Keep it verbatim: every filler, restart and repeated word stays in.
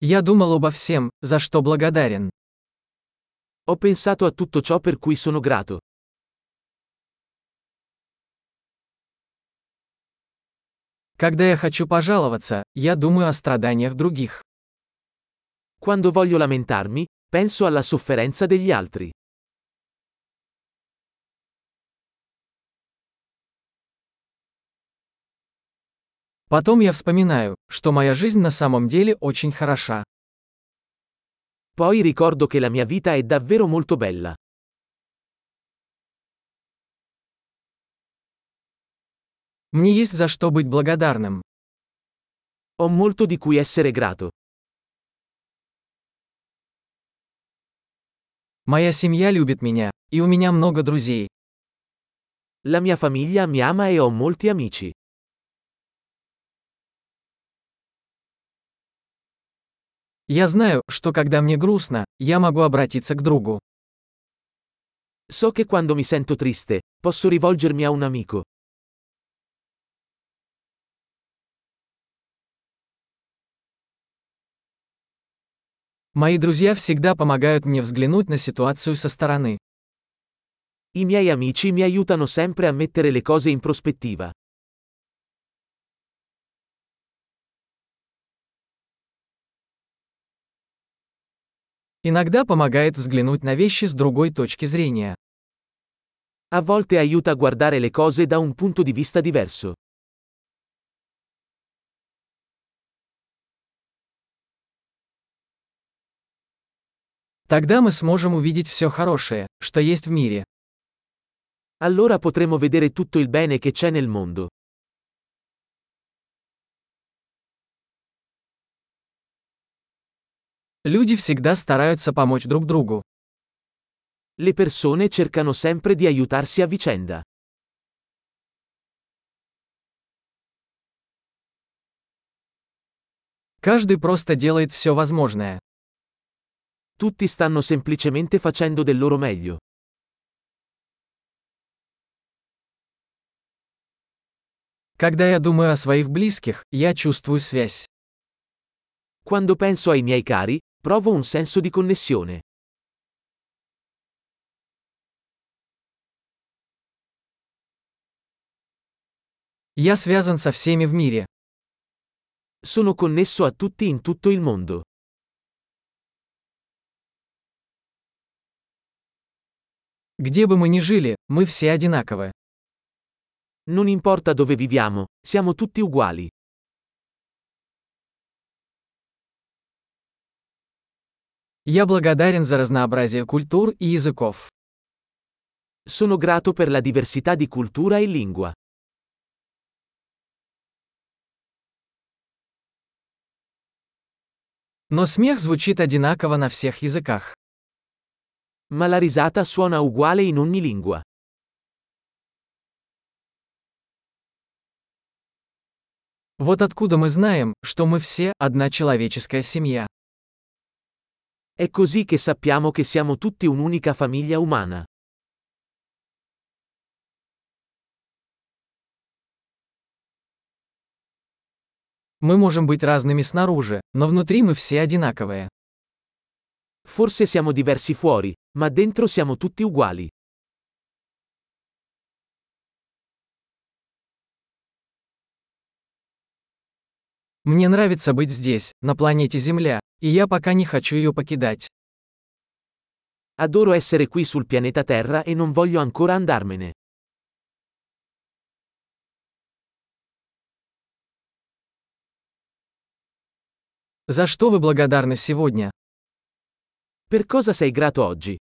Я думал обо всем, за что благодарен. Ho pensato a tutto ciò per cui sono grato. Когда я хочу пожаловаться, я думаю о страданиях других. Quando voglio lamentarmi, penso alla sofferenza degli altri. Потом я вспоминаю, что моя жизнь на самом деле очень хороша. Poi ricordo che la mia vita è davvero molto bella. Мне есть за что быть благодарным. Ho molto di cui essere grato. Моя семья любит меня, и у меня много друзей. La mia famiglia mi ama e ho molti amici. Я знаю, что когда мне грустно, я могу обратиться к другу. So che quando mi sento triste, posso rivolgermi a un amico. Мои друзья всегда помогают мне взглянуть на ситуацию со стороны. I miei amici mi aiutano sempre a mettere le cose in prospettiva. Иногда помогает взглянуть на вещи с другой точки зрения. A volte aiuta a guardare le cose da un punto di vista diverso. Тогда мы сможем увидеть все хорошее, что есть в мире. Allora potremo vedere tutto il bene che c'è nel mondo. Люди всегда стараются помочь друг другу. Le persone cercano sempre di aiutarsi a vicenda. Каждый просто делает все возможное. Tutti stanno semplicemente facendo del loro meglio. Когда я думаю о своих близких, я чувствую связь. Quando penso ai miei cari, provo un senso di connessione. Я связан со всеми в мире. Sono connesso a tutti in tutto il mondo. Где бы мы ни жили, мы все одинаковы. Non importa dove viviamo, siamo tutti uguali. Я благодарен за разнообразие культур и языков. Sono grato per la diversità di cultura e lingua. Но смех звучит одинаково на всех языках. Ma la risata suona uguale in ogni lingua. Вот откуда мы знаем, что мы все одна человеческая семья. È così che sappiamo che siamo tutti un'unica famiglia umana. Мы можем быть разными снаружи, но внутри мы все одинаковые. Forse siamo diversi fuori, ma dentro siamo tutti uguali. Мне нравится быть здесь, на планете Земля, и я пока не хочу ее покидать. Adoro essere qui sul pianeta Terra e non voglio ancora andarmene. За что вы благодарны сегодня? Per cosa sei grato oggi?